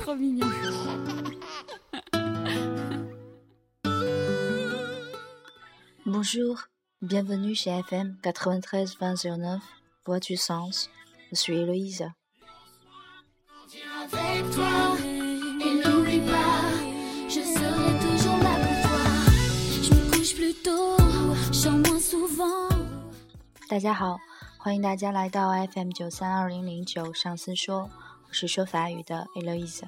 trop mignon. Bonjour, bienvenue chez FM 93.2009, Voix du Sens. Je suis Héloïse. Avec toi, et n'oublie pas, je serai toujours là pour toi. Je me couche plus tôt, je sors moins souvent。 大家好，欢迎大家来到 FM 932009上司说，我是说法语的 Héloïse。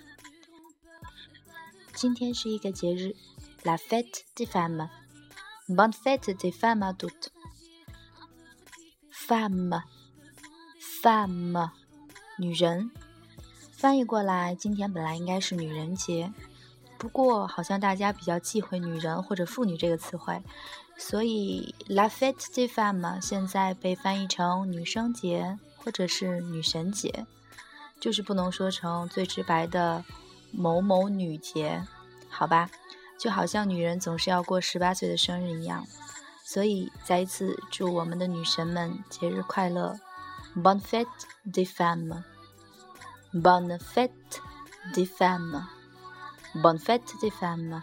今天是一个节日 La Fête des Femmes。Bonne fête des femmes à toutes. Femme, 女人。翻译过来，今天本来应该是女人节，不过好像大家比较忌讳女人或者妇女这个词汇，所以 La Fête des Femmes 现在被翻译成女生节或者是女神节，就是不能说成最直白的某某女节，好吧？就好像女人总是要过18岁的生日一样，所以再一次祝我们的女神们节日快乐。Bonne fête des femmes. Bonne fête des femmes. Bonne fête des femmes.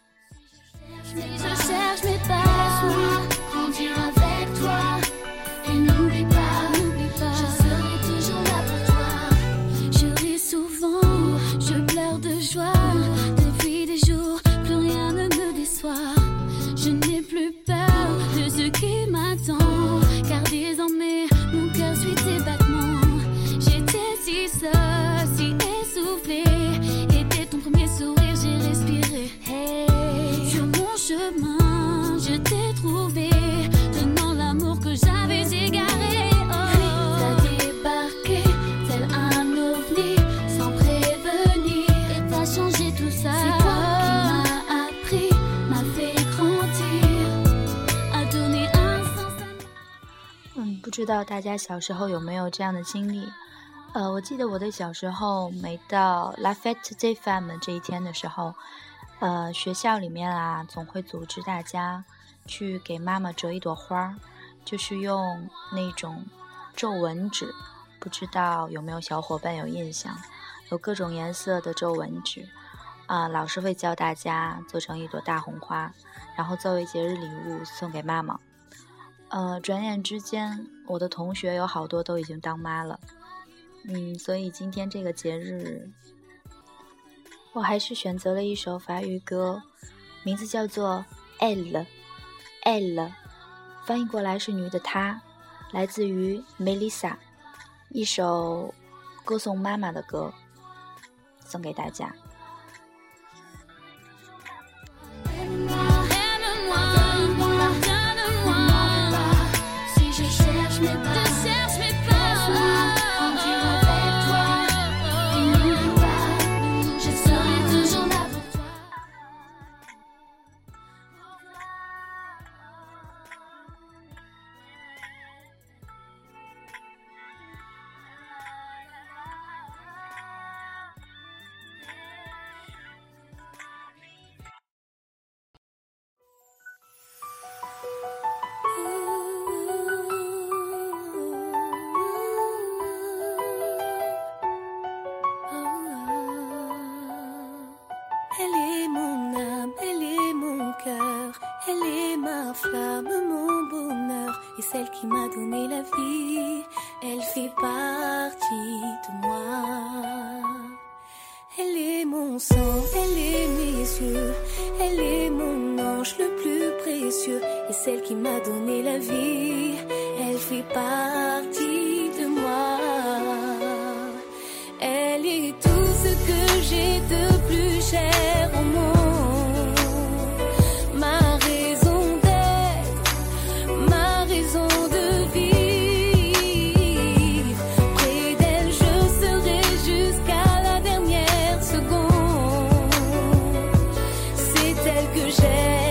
Je cherche mes pas, grandir avec toi. Et n'oublie pas, je serai toujours là pour toi. Je ris souvent, je pleure de joie.Depuis des jours, plus rien ne me déçoit. Je n'ai plus peur de ce qui m'attend, car désormais mon cœur suit tes battements. J'étais si seule, si essoufflée, et dès ton premier sourire j'ai respiré. Hey, sur mon chemin, je t'ai trouvé, tenant l'amour que j'avais égaré. 不知道大家小时候有没有这样的经历？我记得我的小时候，每到 La Fête des Femmes 这一天的时候，学校里面啊，总会组织大家去给妈妈折一朵花，就是用那种皱纹纸，不知道有没有小伙伴有印象？有各种颜色的皱纹纸，老师会教大家做成一朵大红花，然后作为节日礼物送给妈妈。转眼之间，我的同学有好多都已经当妈了，所以今天这个节日，我还是选择了一首法语歌，名字叫做 Elle， 翻译过来是女的她，来自于 Melissa， 一首歌颂妈妈的歌，送给大家。 Elle est ma flamme, mon bonheur, et celle qui m'a donné la vie. Elle fait partie de moi. Elle est mon sang, elle est mes yeux, elle est mon ange le plus précieux, et celle qui m'a donné la vie. Elle fait partie de moi. Elle est tout ce que j'ai de plus cher au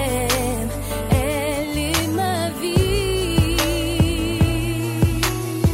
monde.Elle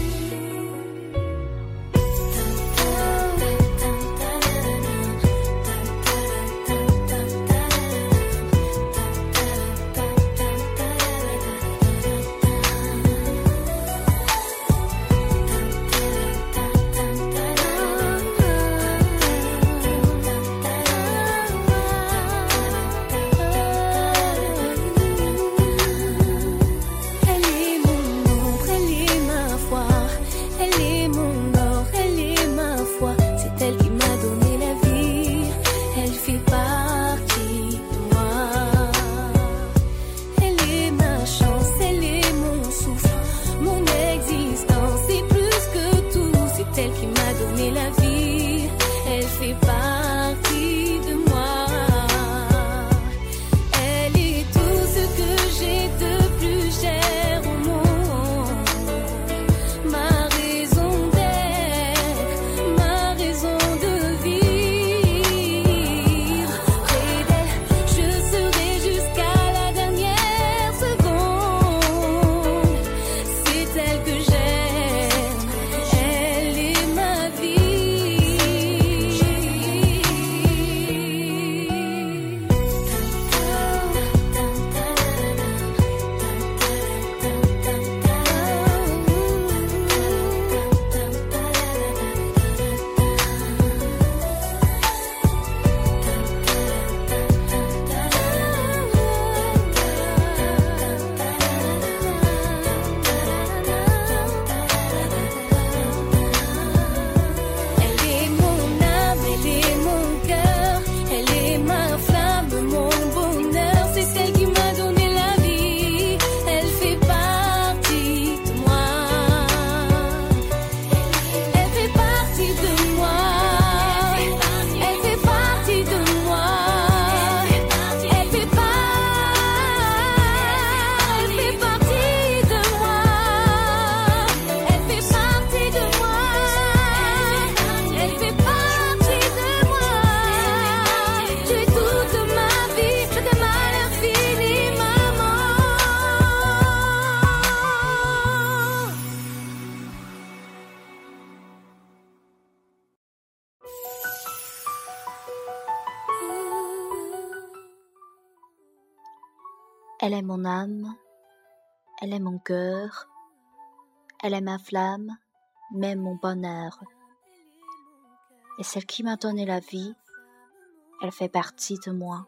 Elle est mon âme, elle est mon cœur, elle est ma flamme, même mon bonheur. Et celle qui m'a donné la vie, elle fait partie de moi。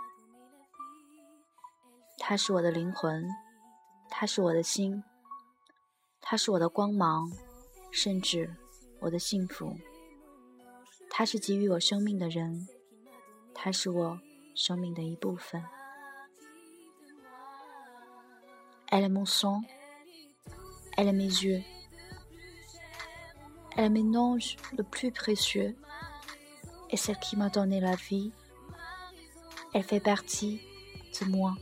她是我的灵魂，她是我的心，她是我的光芒，甚至我的幸福。她是给予我生命的人，她是我生命的一部分。Elle est mon sang, elle est mes yeux, elle est mon ange le plus précieux, et celle qui m'a donné la vie, elle fait partie de moi。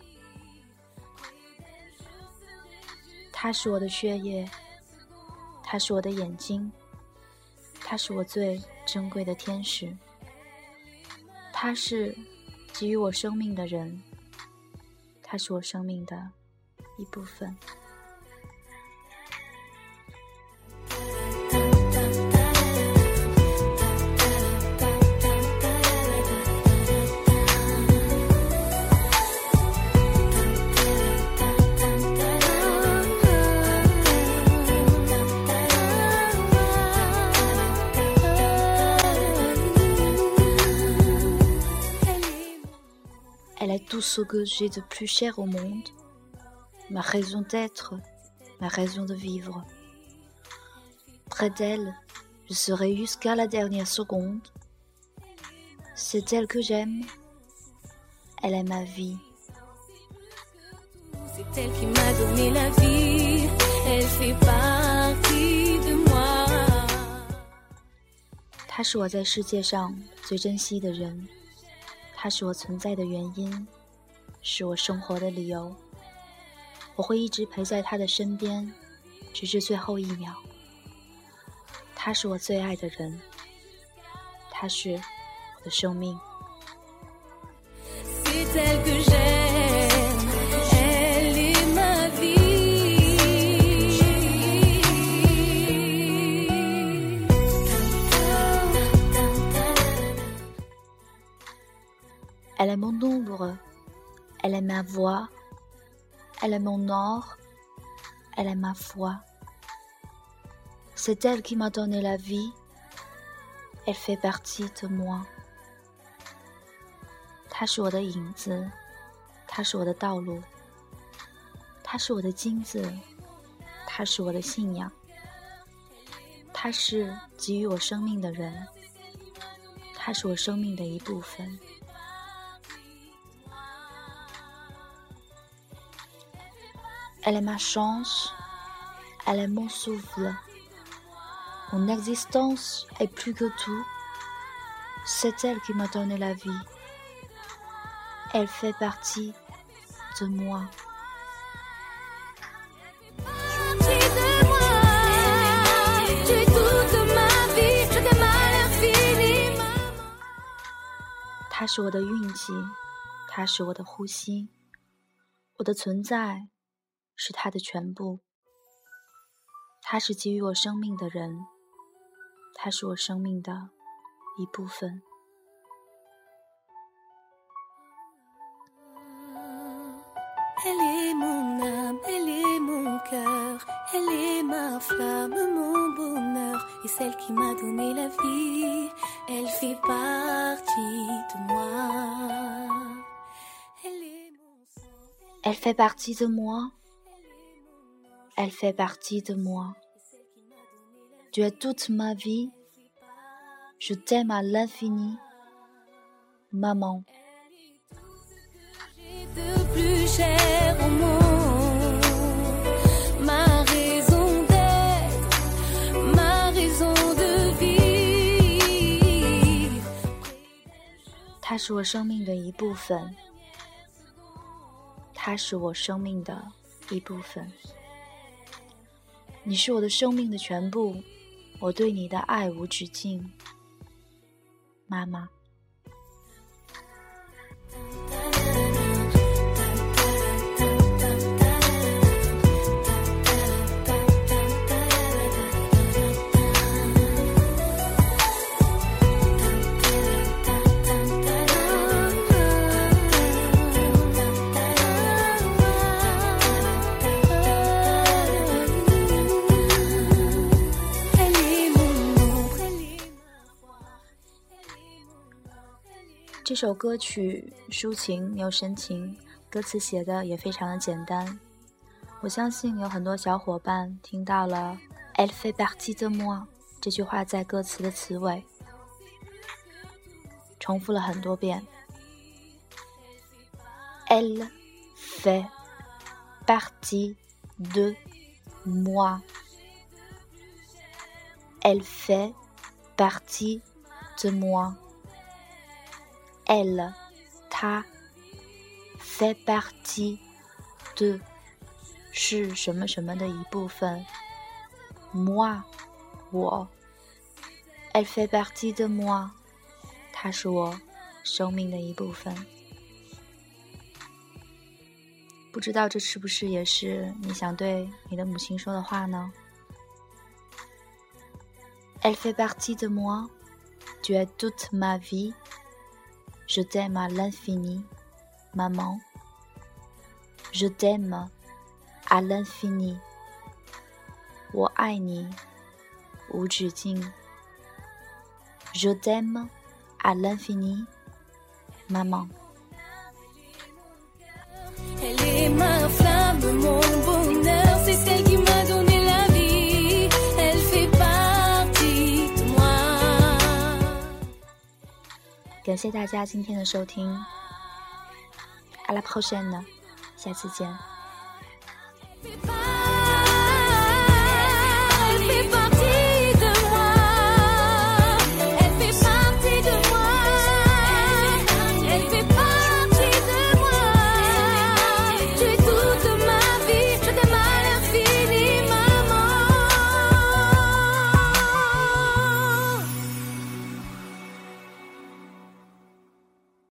她是我的血液，她是我的眼睛，她是我最珍贵的天使，她是给予我生命的人，她是我生命的一部分。Elle est tout ce que j'ai de plus cher au monde, ma raison d'être, ma raison de vivre. Près d'elle, je serai jusqu'à la dernière seconde. C'est elle que j'aime, elle est ma vie. C'est elle qui m'a donné la vie, elle fait partie de moi。 她是我在世界上最珍惜的人，她是我存在的原因，是我生活的理由。我会一直陪在她的身边，直至最后一秒。她是我最爱的人，她是我的生命。 C'est elle que j'aime, elle est ma vie. Elle est mon ombre, elle est ma voix, elle est mon or, elle est ma foi. C'est elle qui m'a donné la vie, elle fait partie de moi。 她是我的影子，她是我的道路，她是我的金子，她是我的信仰，她是给予我生命的人，她是我生命的一部分。Elle est ma chance, elle est mon souffle. Mon existence est plus que tout. C'est elle qui m'a donné la vie. Elle fait partie de moi. Partie de moi, tu es toute ma vie, je t'aime infiniment。 她是我的运气，她是我的呼吸，我的存在是她的全部。她是给予我生命的人，她是我生命的一部分。 Elle est mon âme, elle est mon cœur, elle est ma flamme, mon bonheur, et celle qui m'a donné la vie, elle fait partie de moi. Elle est mon sang, Elle fait partie de moi, elle fait partie de moi. Tu es toute ma vie, je t'aime à l'infini, maman. j'ai de plus cher au monde, ma raison d'être, ma raison de vivre. 它是我生命的一部分，它是我生命的一部分。你是我的生命的全部，我对你的爱无止境，妈妈。 这首歌曲抒情又深情，歌词写的也非常的简单。我相信有很多小伙伴听到了 Elle fait partie de moi 这句话在歌词的词尾重复了很多遍。Elle fait partie de moi. Elle fait partie de moi. Elle, 她 fait partie de 是什么什么的一部分 moi 我 Elle fait partie de moi 她是我生命的一部分。不知道这是不是也是你想对你的母亲说的话呢？ Elle fait partie de moi. Tu es toute ma vie. Je t'aime à l'infini, maman. Je t'aime à l'infini. 我爱你无止境。Je t'aime à l'infini, maman. Elle est ma flamme, mon bonheur, c'est celle qui m'a donné la vie. Elle fait partie de moi. 感谢大家今天的收听。À la prochaine，下次见。